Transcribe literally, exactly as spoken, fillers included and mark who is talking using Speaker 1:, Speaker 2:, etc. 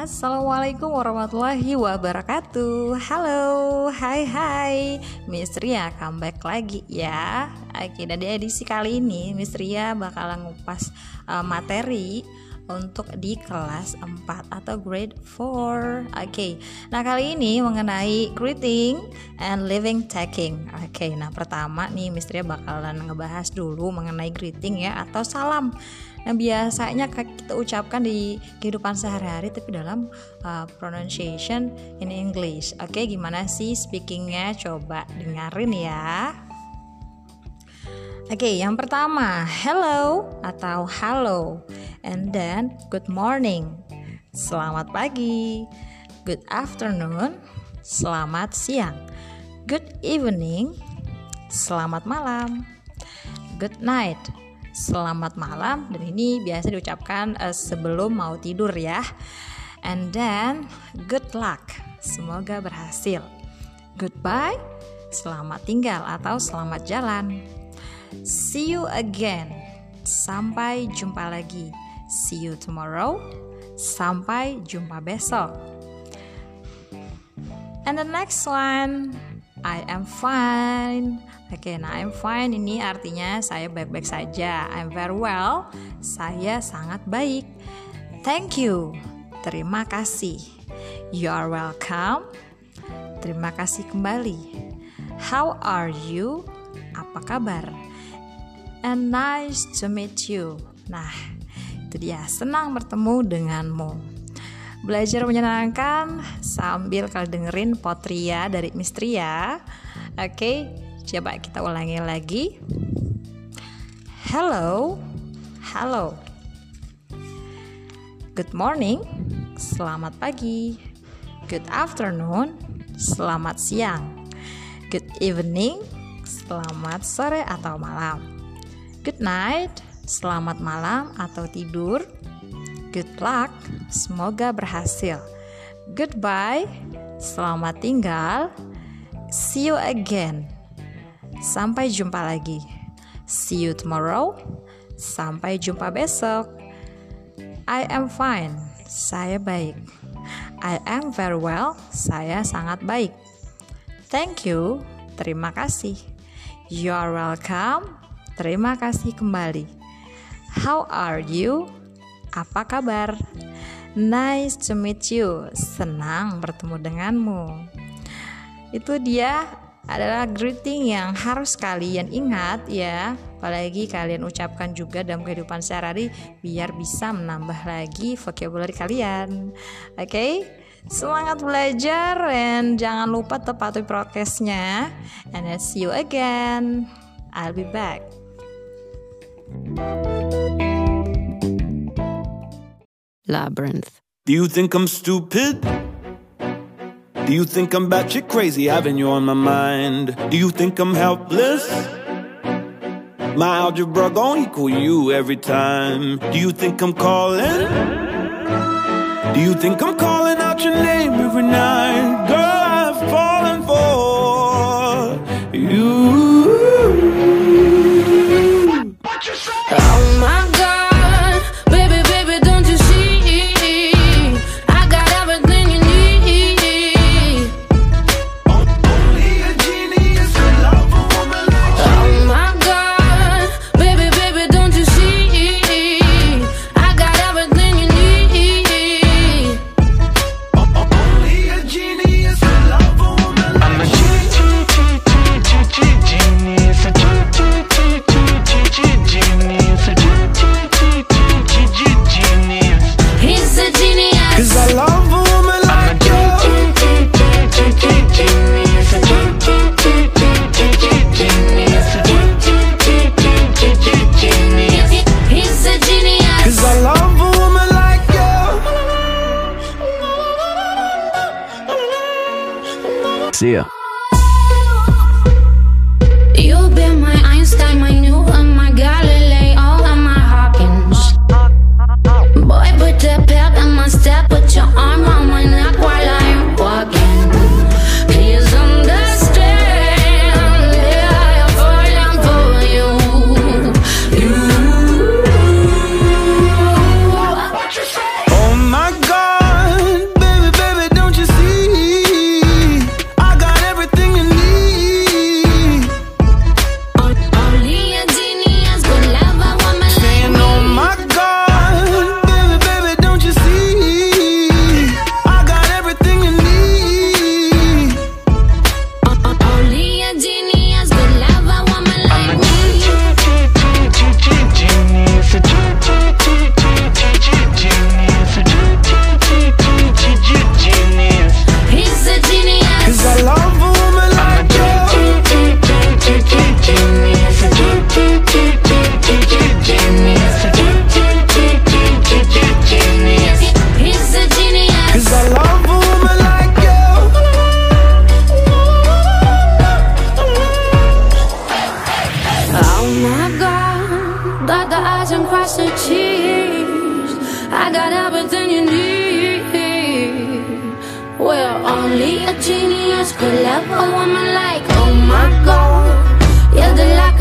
Speaker 1: Assalamualaikum warahmatullahi wabarakatuh. Halo, hai hai, Miss Ria comeback lagi ya. Oke, dan di edisi kali ini Miss Ria bakalan ngupas uh, materi untuk di kelas empat atau grade four. Oke, nah kali ini mengenai greeting and living taking. Oke, nah pertama nih Miss Ria bakalan ngebahas dulu mengenai greeting ya atau salam. Nah biasanya kita ucapkan di kehidupan sehari-hari tapi dalam uh, pronunciation in English. Oke, gimana sih speakingnya? Coba dengerin ya. Oke, yang pertama hello atau halo, and then good morning, selamat pagi. Good afternoon, selamat siang. Good evening, selamat malam. Good night, selamat malam. Dan ini biasa diucapkan uh, sebelum mau tidur ya. And then good luck, semoga berhasil. Goodbye, selamat tinggal atau selamat jalan. See you again, sampai jumpa lagi. See you tomorrow, sampai jumpa besok. And the next one, I am fine. Oke, okay, nah I'm fine ini artinya saya baik-baik saja. I'm very well, saya sangat baik. Thank you, terima kasih. You are welcome, terima kasih kembali. How are you, apa kabar? And nice to meet you. Nah, itu dia, senang bertemu denganmu. Belajar menyenangkan sambil kalian dengerin Potria dari Miss Ria. Oke, coba kita ulangi lagi. Hello, halo. Good morning, selamat pagi. Good afternoon, selamat siang. Good evening, selamat sore atau malam. Good night, selamat malam atau tidur. Good luck, semoga berhasil. Goodbye, selamat tinggal. See you again, sampai jumpa lagi. See you tomorrow, sampai jumpa besok. I am fine, saya baik. I am very well, saya sangat baik. Thank you, terima kasih. You are welcome, terima kasih kembali. How are you? Apa kabar? Nice to meet you. Senang bertemu denganmu. Itu dia adalah greeting yang harus kalian ingat ya. Apalagi kalian ucapkan juga dalam kehidupan sehari-hari biar bisa menambah lagi vocabulary kalian. Oke? Okay? Semangat belajar dan jangan lupa tepati prokesnya. And I'll see you again. I'll be back.
Speaker 2: Labyrinth.
Speaker 3: Do you think I'm stupid? Do you think I'm batshit crazy, having you on my mind? Do you think I'm helpless? My algebra gon' equal you every time. Do you think I'm calling? Do you think I'm calling out your name every night? Girl, I've fallen for you.
Speaker 4: Oh my God, baby, baby, don't you see? I got everything you need.
Speaker 3: Only a genius can love a woman like you.
Speaker 4: Oh my God, baby, baby, don't you see? I got everything you need.
Speaker 3: Only a genius can love a woman like you. I'm a genius, a
Speaker 4: He's a genius.
Speaker 3: 'cause I love a woman like you.
Speaker 4: He's a genius.
Speaker 3: 'Cause I love a woman like you. See ya.
Speaker 4: You've been my Einstein, my Newton, my Galileo, and my Hawkins. Boy, put the pep in my step, put your arm around my neck while I'm walking. Please understand, yeah, I'm falling for you. You.
Speaker 3: Oh my God,
Speaker 4: Dot the I's and cross the T's. I got everything you need. Well, only a genius could love a woman like, oh my God. You're the light